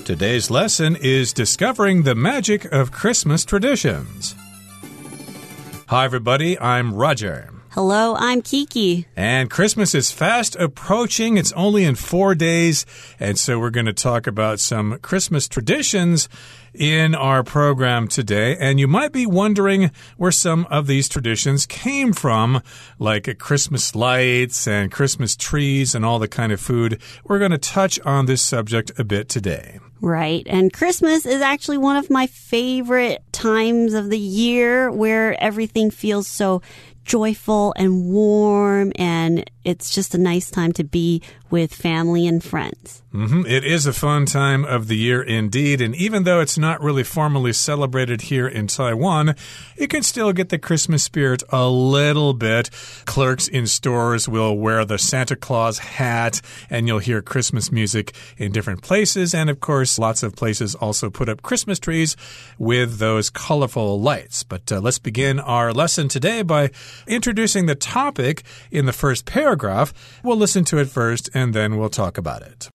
Today's lesson is Discovering the Magic of Christmas Traditions. Hi, everybody. I'm Roger. Hello, I'm Kiki. And Christmas is fast approaching. It's only in 4 days. And so we're going to talk about some Christmas traditions in our program today. And you might be wondering where some of these traditions came from, like Christmas lights and Christmas trees and all the kind of food. We're going to touch on this subject a bit today. Right. And Christmas is actually one of my favorite times of the year where everything feels so joyful and warm, and it's just a nice time to be with family and friends. It is a fun time of the year indeed, and even though it's not really formally celebrated here in Taiwan, you can still get the Christmas spirit a little bit. Clerks in stores will wear the Santa Claus hat, and you'll hear Christmas music in different places, and of course, lots of places also put up Christmas trees with those colorful lights. But let's begin our lesson today by introducing the topic in the first paragraph. We'll listen to it first, and then we'll talk about it.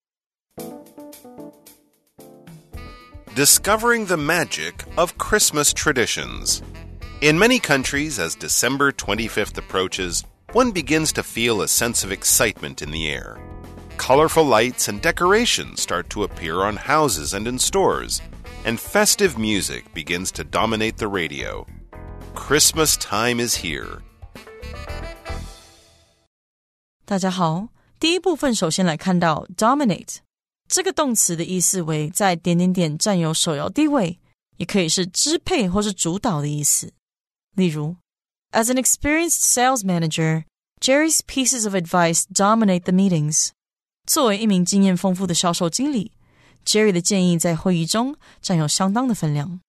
Discovering the magic of Christmas traditions. In many countries, as December 25th approaches, one begins to feel a sense of excitement in the air. Colorful lights and decorations start to appear on houses and in stores, and festive music begins to dominate the radio. Christmas time is here. 大家好，第一部分首先来看到 dominate 这个动詞的意思為在點點點佔有首要地位，也可以是支配或是主導的意思。例如 As an experienced sales manager, Jerry's pieces of advice dominate the meetings. 作為一名經驗豐富的銷售經理， Jerry 的建議在會議中佔有相當的分量。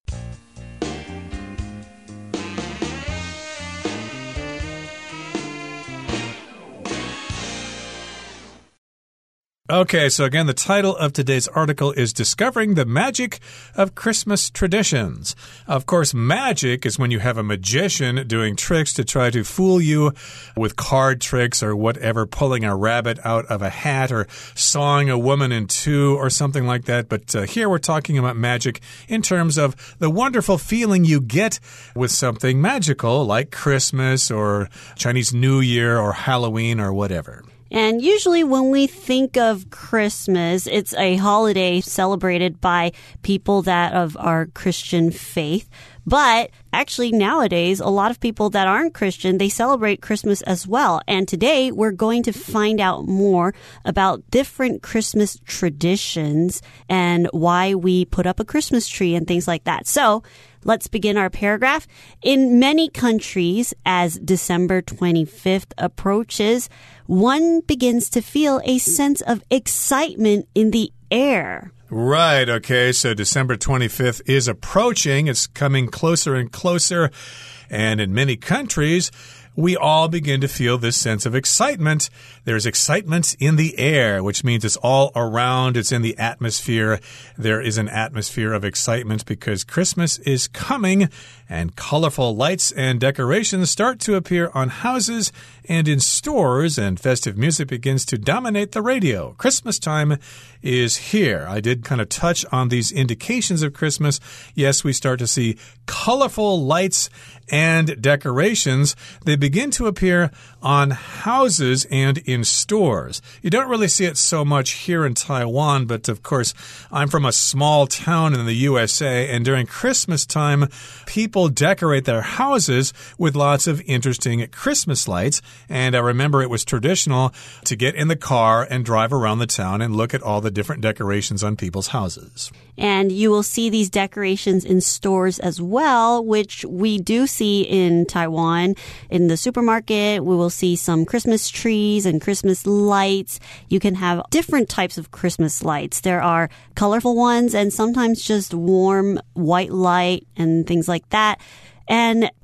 Okay, so again, the title of today's article is Discovering the Magic of Christmas Traditions. Of course, magic is when you have a magician doing tricks to try to fool you with card tricks or whatever, pulling a rabbit out of a hat or sawing a woman in two or something like that. But here we're talking about magic in terms of the wonderful feeling you get with something magical like Christmas or Chinese New Year or Halloween or whatever. And usually when we think of Christmas, it's a holiday celebrated by people that of our Christian faith. But actually nowadays, a lot of people that aren't Christian, they celebrate Christmas as well. And today we're going to find out more about different Christmas traditions and why we put up a Christmas tree and things like that. So let's begin our paragraph. In many countries, as December 25th approaches, one begins to feel a sense of excitement in the air. Right, okay, so December 25th is approaching. It's coming closer and closer. And in many countries, we all begin to feel this sense of excitement. There's excitement in the air, which means it's all around. It's in the atmosphere. There is an atmosphere of excitement because Christmas is coming, and colorful lights and decorations start to appear on houses and in stores, and festive music begins to dominate the radio. Christmas time is here. I did kind of touch on these indications of Christmas. Yes, we start to see colorful lights and decorations. They begin to appear on houses and in stores. You don't really see it so much here in Taiwan, but of course, I'm from a small town in the USA, and during Christmas time, people decorate their houses with lots of interesting Christmas lights. And I remember it was traditional to get in the car and drive around the town and look at all the different decorations on people's houses. And you will see these decorations in stores as well, which we do see in Taiwan. In the supermarket, we will see some Christmas trees and Christmas lights. You can have different types of Christmas lights. There are colorful ones and sometimes just warm white light and things like that. And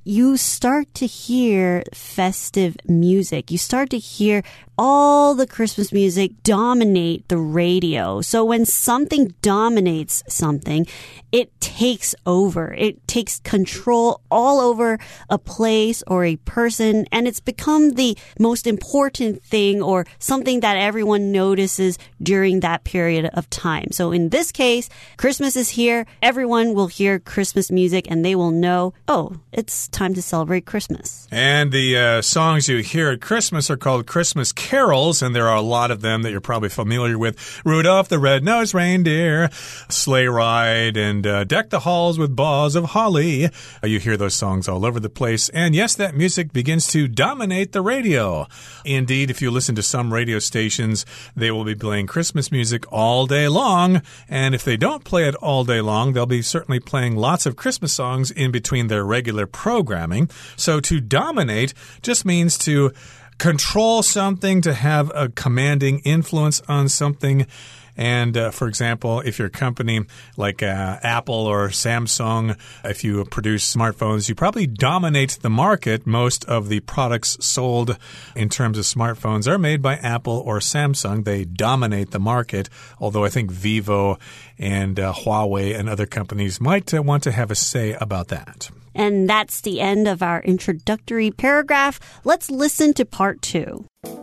you start to hear festive music. You start to hear all the Christmas music dominate the radio. So when something dominates something, it takes over. It takes control all over a place or a person, and it's become the most important thing or something that everyone notices during that period of time. So in this case, Christmas is here. Everyone will hear Christmas music and they will know, oh, it's time to celebrate Christmas. And the songs you hear at Christmas are called Christmas carols, and there are a lot of them that you're probably familiar with. Rudolph the Red-Nosed Reindeer, Sleigh Ride, and Deck the Halls with Boughs of Holly. You hear those songs all over the place. And yes, that music begins to dominate the radio. Indeed, if you listen to some radio stations, they will be playing Christmas music all day long. And if they don't play it all day long, they'll be certainly playing lots of Christmas songs in between their regular programming. So to dominate just means to control something, to have a commanding influence on something. And for example, if you're a company like Apple or Samsung, if you produce smartphones, you probably dominate the market. Most of the products sold in terms of smartphones are made by Apple or Samsung. They dominate the market, although I think Vivo and Huawei and other companies might want to have a say about that. And that's the end of our introductory paragraph. Let's listen to part 2.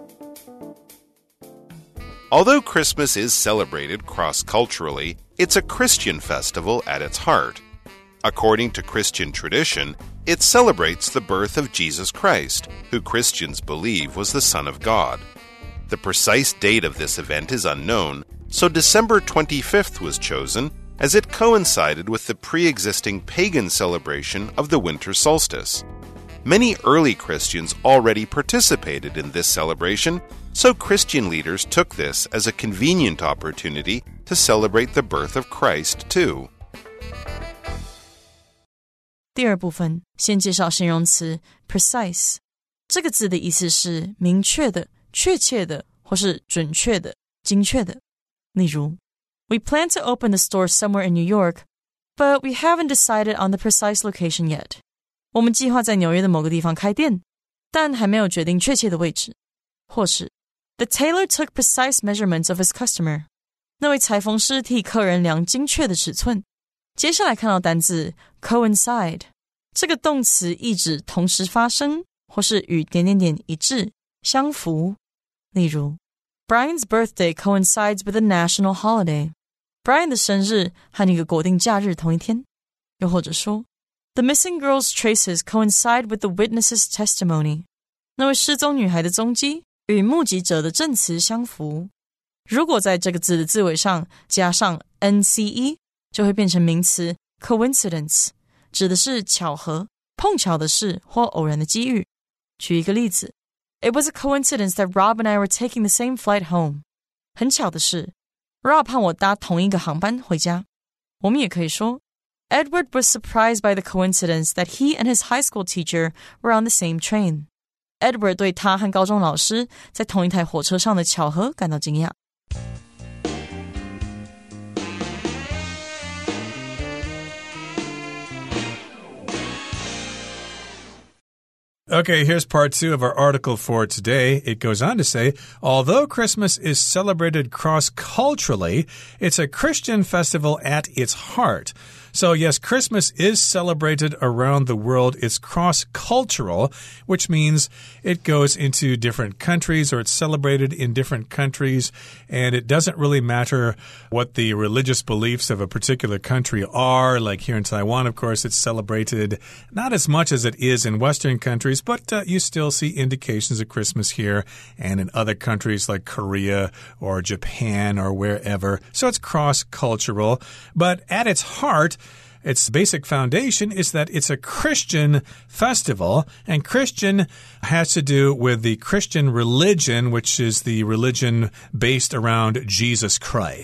Although Christmas is celebrated cross-culturally, it's a Christian festival at its heart. According to Christian tradition, it celebrates the birth of Jesus Christ, who Christians believe was the Son of God. The precise date of this event is unknown, so December 25th was chosen as it coincided with the pre-existing pagan celebration of the winter solstice. Many early Christians already participated in this celebration, so Christian leaders took this as a convenient opportunity to celebrate the birth of Christ too. 第二部分，先介绍形容詞 precise。这個字的意思是明確的、確切的，或是準確的、精確的。例如 We plan to open the store somewhere in New York, but we haven't decided on the precise location yet. 我們計劃在紐約的某個地方開店，但還沒有決定確切的位置。或是 The tailor took precise measurements of his customer. 那位裁縫師替客人量精確的尺寸。接下來看到單字 coincide， 這個動詞意指同時發生，或是與點點點一致、相符。例如 Brian's birthday coincides with a national holiday. Brian 的生日和一個國定假日同一天。又或者說 The missing girl's traces coincide with the witness's testimony. 那位失蹤女孩的蹤跡與目擊者的證詞相符。如果在這個字的字尾上加上 nce， 就會變成名詞 coincidence， 指的是巧合、碰巧的事或偶然的機遇。舉一個例子 It was a coincidence that Rob and I were taking the same flight home. 很巧的是 Rob 和我搭同一個航班回家。我們也可以說 Edward was surprised by the coincidence that he and his high school teacher were on the same train. Edward 對他和高中老師在同一台火車上的巧合感到驚訝。 Okay, here's part 2 of our article for today. It goes on to say, although Christmas is celebrated cross-culturally, it's a Christian festival at its heart. So yes, Christmas is celebrated around the world. It's cross-cultural, which means it goes into different countries or it's celebrated in different countries. And it doesn't really matter what the religious beliefs of a particular country are. Like here in Taiwan, of course, it's celebrated not as much as it is in Western countries, but you still see indications of Christmas here and in other countries like Korea or Japan or wherever. So it's cross-cultural. But at its heart, its basic foundation is that it's a Christian festival, and Christian has to do with the Christian religion, which is the religion based around Jesus Christ.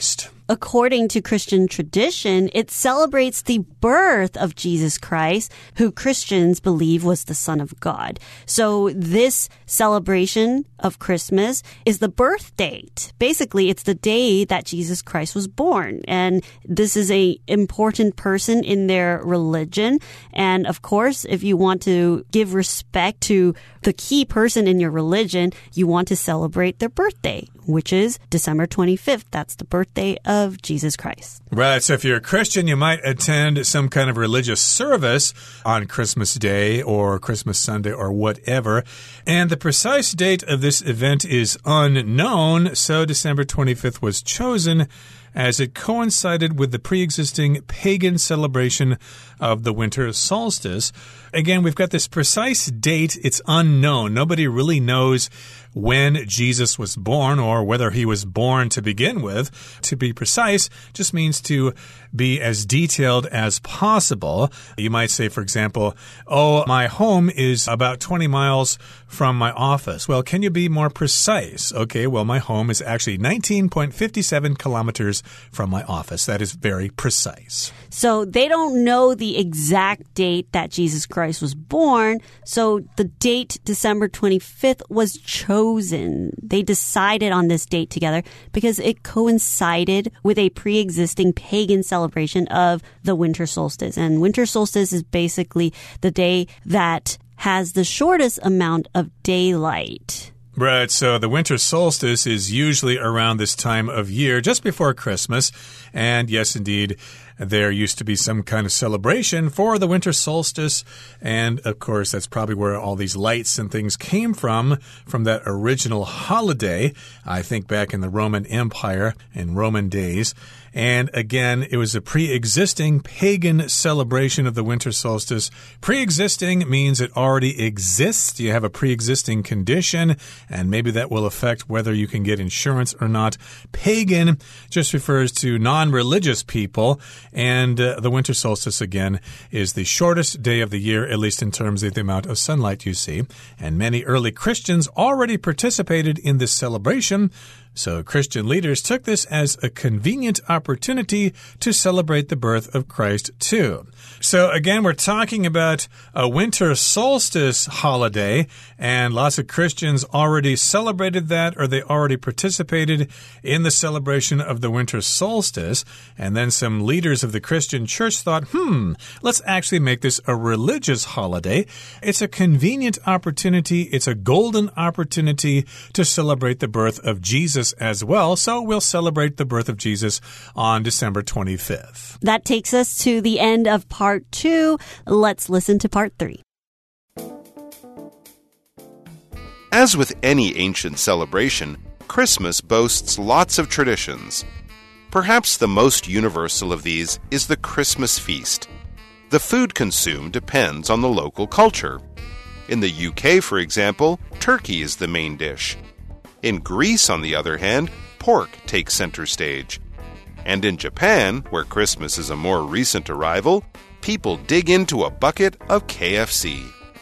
according to Christian tradition, it celebrates the birth of Jesus Christ, who Christians believe was the Son of God. So this celebration of Christmas is the birth date. Basically, it's the day that Jesus Christ was born. And this is an important person in their religion. And of course, if you want to give respect to the key person in your religion, you want to celebrate their birthday, which is December 25th. That's the birthday of Jesus Christ. Right. So if you're a Christian, you might attend some kind of religious service on Christmas Day or Christmas Sunday or whatever. And the precise date of this event is unknown. So December 25th was chosen as it coincided with the pre-existing pagan celebration of the winter solstice. Again, we've got this precise date. It's unknown. Nobody really knows when Jesus was born or whether he was born to begin with. To be precise just means to be as detailed as possible. You might say, for example, oh, my home is about 20 miles from my office. Well, can you be more precise? Okay, well, my home is actually 19.57 kilometers from my office. That is very precise. So they don't know the exact date that Jesus Christ was born. So the date, December 25th, was chosen. They decided on this date together because it coincided with a pre-existing pagan celebration of the winter solstice. And winter solstice is basically the day that has the shortest amount of daylight. Right, so the winter solstice is usually around this time of year, just before Christmas. And yes, indeed, there used to be some kind of celebration for the winter solstice. And of course, that's probably where all these lights and things came from that original holiday, I think back in the Roman Empire, in Roman days. And again, it was a pre-existing pagan celebration of the winter solstice. Pre-existing means it already exists. You have a pre-existing condition, and maybe that will affect whether you can get insurance or not. Pagan just refers to non-religious people, and the winter solstice, again, is the shortest day of the year, at least in terms of the amount of sunlight you see. And many early Christians already participated in this celebration. So Christian leaders took this as a convenient opportunity to celebrate the birth of Christ too. So again, we're talking about a winter solstice holiday, and lots of Christians already celebrated that, or they already participated in the celebration of the winter solstice. And then some leaders of the Christian church thought, let's actually make this a religious holiday. It's a convenient opportunity. It's a golden opportunity to celebrate the birth of Jesus as well. So we'll celebrate the birth of Jesus on December 25th. That takes us to the end of part 2. Let's listen to part 3. As with any ancient celebration, Christmas boasts lots of traditions. Perhaps the most universal of these is the Christmas feast. The food consumed depends on the local culture. In the UK, for example, turkey is the main dish. In Greece, on the other hand, pork takes center stage. And in Japan, where Christmas is a more recent arrival, people dig into a bucket of KFC.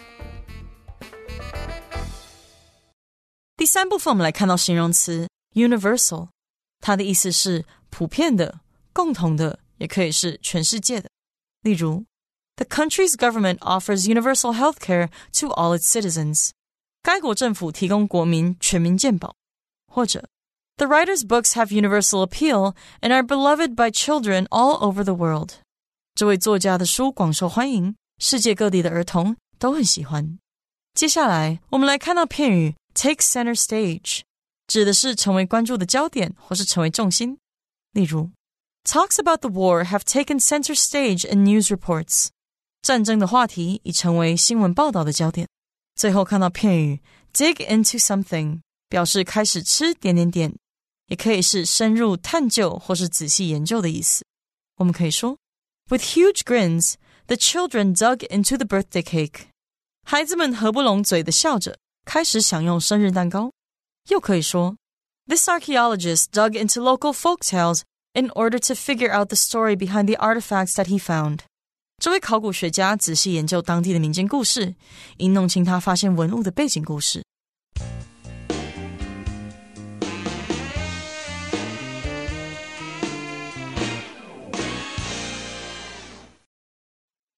第三部分我们来看到形容词 universal， 它的意思是普遍的、共同的，也可以是全世界的。例如 The country's government offers universal health care to all its citizens. 该国政府提供国民全民健保。或者 The writer's books have universal appeal and are beloved by children all over the world. 这位作家的書廣受歡迎，世界各地的兒童都很喜歡。接下來我們來看到片語 take center stage， 指的是成為關注的焦點或是成為重心。例如 Talks about the war have taken center stage in news reports. 戰爭的話題已成為新聞報道的焦點。最後看到片語 dig into something， 表示開始吃點點點，也可以是深入探究或是仔細研究的意思。我們可以說 With huge grins, the children dug into the birthday cake. 孩子們合不攏嘴的笑着，開始享用生日蛋糕。又可以說 This archaeologist dug into local folktales in order to figure out the story behind the artifacts that he found. 這位考古學家仔細研究當地的民間故事，以弄清他發現文物的背景故事。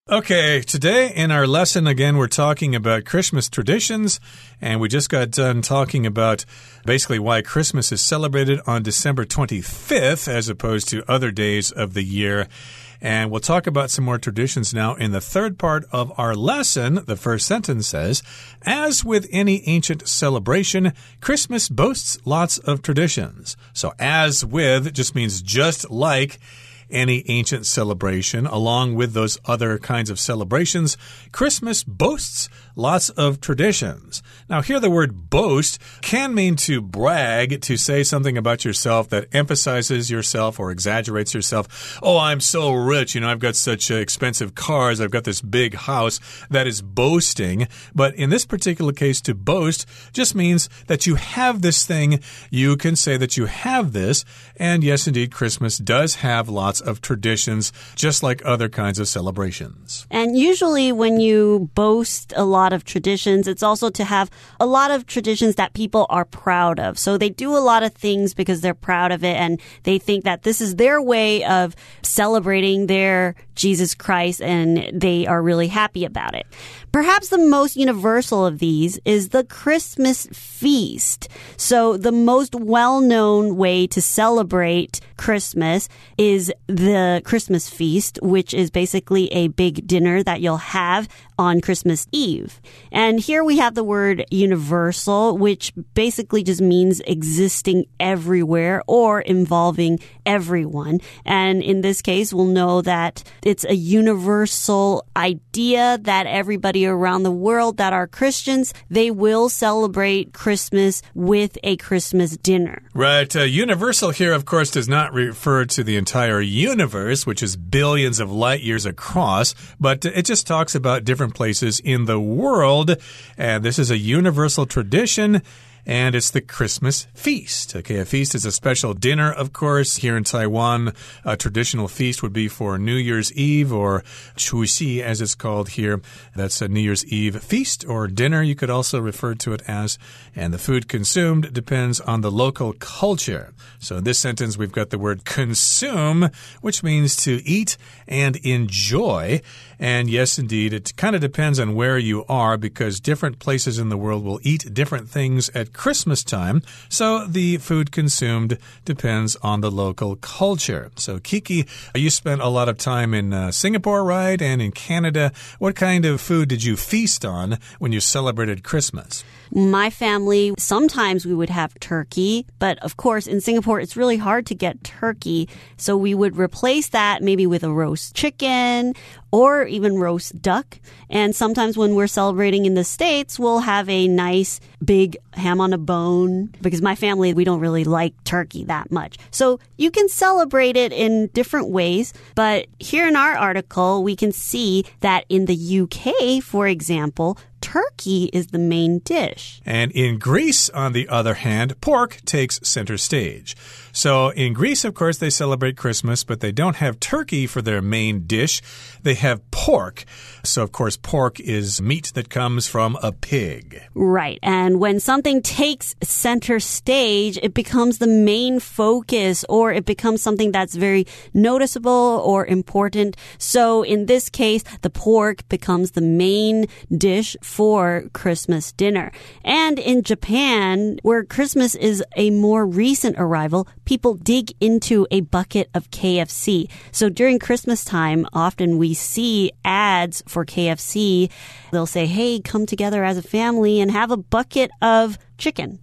Okay, today in our lesson, again, we're talking about Christmas traditions, and we just got done talking about basically why Christmas is celebrated on December 25th as opposed to other days of the year. And we'll talk about some more traditions now in the third part of our lesson. The first sentence says, as with any ancient celebration, Christmas boasts lots of traditions. So as with just means just like any ancient celebration. Along with those other kinds of celebrations, Christmas boasts lots of traditions. Now, here the word boast can mean to brag, to say something about yourself that emphasizes yourself or exaggerates yourself. Oh, I'm so rich. You know, I've got such expensive cars. I've got this big house. That is boasting. But in this particular case, to boast just means that you have this thing. You can say that you have this. And yes, indeed, Christmas does have lots of traditions, just like other kinds of celebrations. And usually when you boast a lot of traditions, it's also to have a lot of traditions that people are proud of. So they do a lot of things because they're proud of it, and they think that this is their way of celebrating their Jesus Christ, and they are really happy about it. Perhaps the most universal of these is the Christmas feast. So the most well-known way to celebrate Christmas is the Christmas feast, which is basically a big dinner that you'll have on Christmas Eve. And here we have the word universal, which basically just means existing everywhere or involving everyone. And in this case, we'll know that it's a universal idea that everybody around the world that are Christians, they will celebrate Christmas with a Christmas dinner. Right. Universal here, of course, does not refer to the entire universe, which is billions of light years across, but it just talks about different places in the world. And this is a universal tradition. And it's the Christmas feast. Okay, a feast is a special dinner, of course. Here in Taiwan, a traditional feast would be for New Year's Eve, or Chuxi, as it's called here. That's a New Year's Eve feast or dinner, you could also refer to it as. And the food consumed depends on the local culture. So in this sentence, we've got the word consume, which means to eat and enjoy. And yes, indeed, it kind of depends on where you are, because different places in the world will eat different things at Christmas time. So the food consumed depends on the local culture. So Kiki, you spent a lot of time in Singapore, right? And in Canada. What kind of food did you feast on when you celebrated Christmas? My family, sometimes we would have turkey, but of course in Singapore it's really hard to get turkey, so we would replace that maybe with a roast chicken or even roast duck. And sometimes when we're celebrating in the States, we'll have a nice big ham on a bone, because my family, we don't really like turkey that much. So you can celebrate it in different ways, but here in our article we can see that in the UK, for example, turkey is the main dish. And in Greece, on the other hand, pork takes center stage. So in Greece, of course, they celebrate Christmas, but they don't have turkey for their main dish. They have pork. So, of course, pork is meat that comes from a pig. Right. And when something takes center stage, it becomes the main focus, or it becomes something that's very noticeable or important. So in this case, the pork becomes the main dish for Christmas dinner. And in Japan, where Christmas is a more recent arrival, people dig into a bucket of KFC. So during Christmas time, often we see ads for KFC. They'll say, hey, come together as a family and have a bucket of chicken.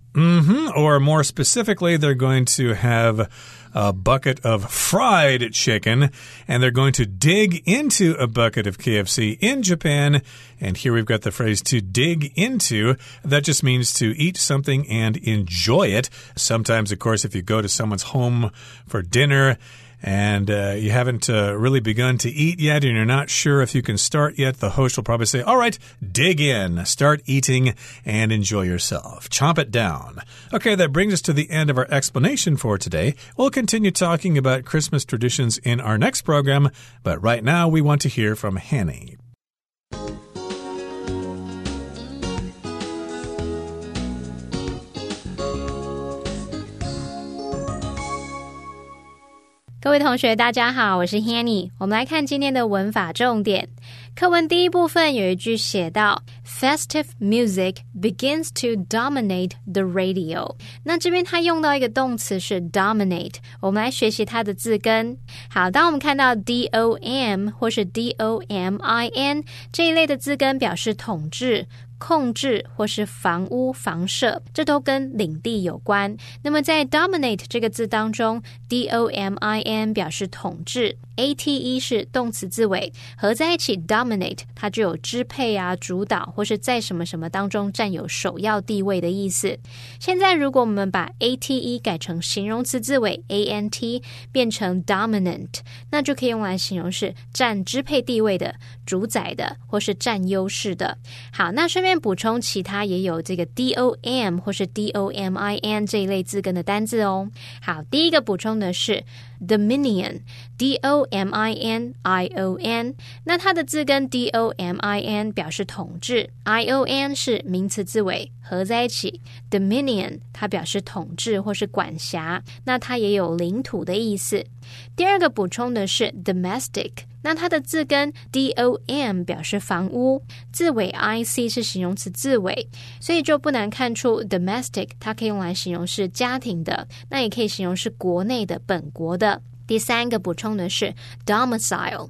Or more specifically, they're going to have a bucket of fried chicken, and they're going to dig into a bucket of KFC in Japan. And here we've got the phrase to dig into. That just means to eat something and enjoy it. Sometimes, of course, if you go to someone's home for dinner and you haven't really begun to eat yet, and you're not sure if you can start yet, the host will probably say, all right, dig in, start eating, and enjoy yourself. Chomp it down. Okay, that brings us to the end of our explanation for today. We'll continue talking about Christmas traditions in our next program, but right now we want to hear from Hanny. 各位同学大家好，我是 Hanny。 我们来看今天的文法重点。 課文第一部分有一句寫到 Festive music begins to dominate the radio。 那這邊它用到一個動詞是 dominate， 我們來學習它的字根。好，當我們看到 DOM 或是 DOMIN 這一類的字根表示統治、控制或是房屋、房舍，這都跟領地有關。那麼在 dominate 這個字當中， DOMIN 表示統治， ATE 是動詞字尾，合在一起 dominate 它就有支配啊、主導或是在什麼什麼當中占有首要地位的意思。現在如果我們把 ATE 改成形容詞字尾 ANT 變成 dominant， 那就可以用來形容是占支配地位的、主宰的或是占優勢的。好，那顺便補充其他也有這個 DOM 或是 DOMIN 這一類字根的單字哦。好，第一個補充的是 Dominion DOMINION， 那它的字根 DOMIN 表示統治， ION 是名詞字尾，合在一起 Dominion 它表示統治或是管轄，那它也有領土的意思。第二個補充的是 Domestic， 那它的字根 DOM 表示房屋，字尾 IC 是形容詞字尾，所以就不難看出 Domestic 它可以用來形容是家庭的，那也可以形容是国內的、本國的。第三個補充的是 domicile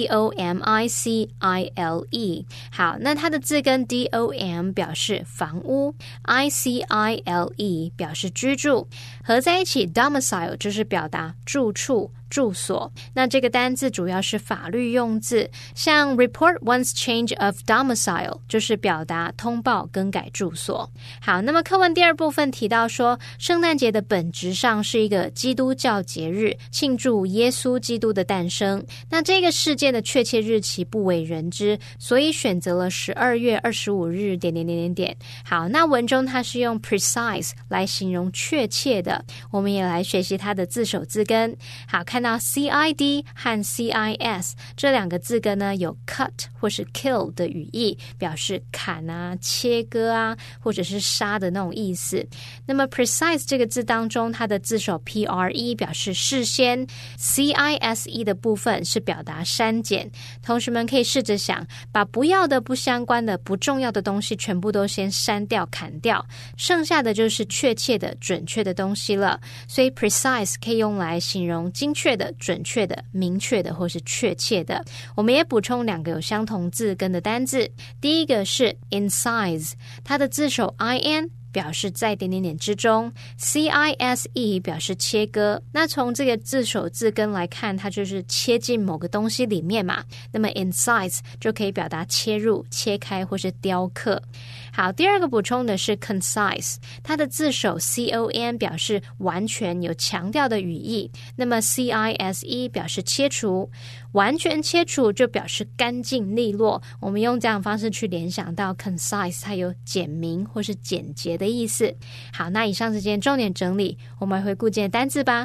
DOMICILE， 好，那它的字根 DOM 表示房屋， ICILE 表示居住，合在一起 domicile 就是表達住處、住所。那這個單字主要是法律用字，像 report one's change of domicile 就是表達通報更改住所。好，那麼課文第二部分提到說，聖誕節的本質上是一個基督教節日，慶祝耶穌基督的誕生。那這個事件的確切日期不為人知，所以選擇了12月25日好，那文中它是用 precise 來形容確切的，我們也來學習它的字首字根。好，看到 CID 和 CIS 這兩個字根呢，有 cut 或是 kill 的語義，表示砍啊、切割啊，或者是殺的那種意思。那麼 precise 這個字當中，它的字首 PRE 表示事先， CISE 的部分是表達刪減。同學們可以試着想，把不要的、不相關的、不重要的東西全部都先刪掉、砍掉，剩下的就是確切的、準確的東西了。所以 precise 可以用來形容精確的、準確的、明確的或是確切的。我們也補充兩個有相同字根的單字，第一個是 incise， 它的字首 IN表示在之中， CISE 表示切割。那從這個字首字根來看，它就是切進某個東西裡面嘛，那麼 incise 就可以表達切入、切開或是雕刻。好，第二個補充的是 concise， 它的字首 CON 表示完全、有強調的語義，那麼 CISE 表示切除，完全切除就表示乾淨利落。我們用這樣的方式去聯想到 concise 它有簡明或是簡潔的意思。好，那以上是今天重點整理，我們來回顧今天的單字吧。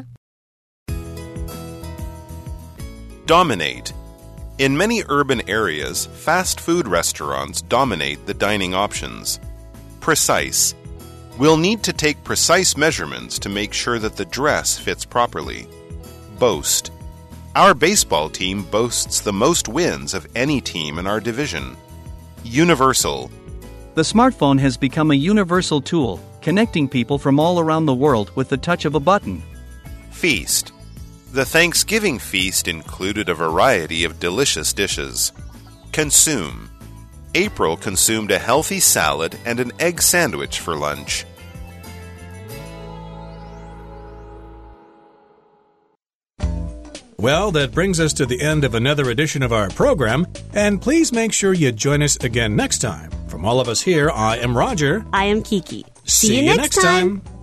Dominate. In many urban areas, fast food restaurants dominate the dining options. Precise. We'll need to take precise measurements to make sure that the dress fits properly. Boast. Our baseball team boasts the most wins of any team in our division. Universal. The smartphone has become a universal tool, connecting people from all around the world with the touch of a button. Feast. The Thanksgiving feast included a variety of delicious dishes. Consume. April consumed a healthy salad and an egg sandwich for lunch. Well, that brings us to the end of another edition of our program, and please make sure you join us again next time. From all of us here, I am Roger. I am Kiki. See you next time.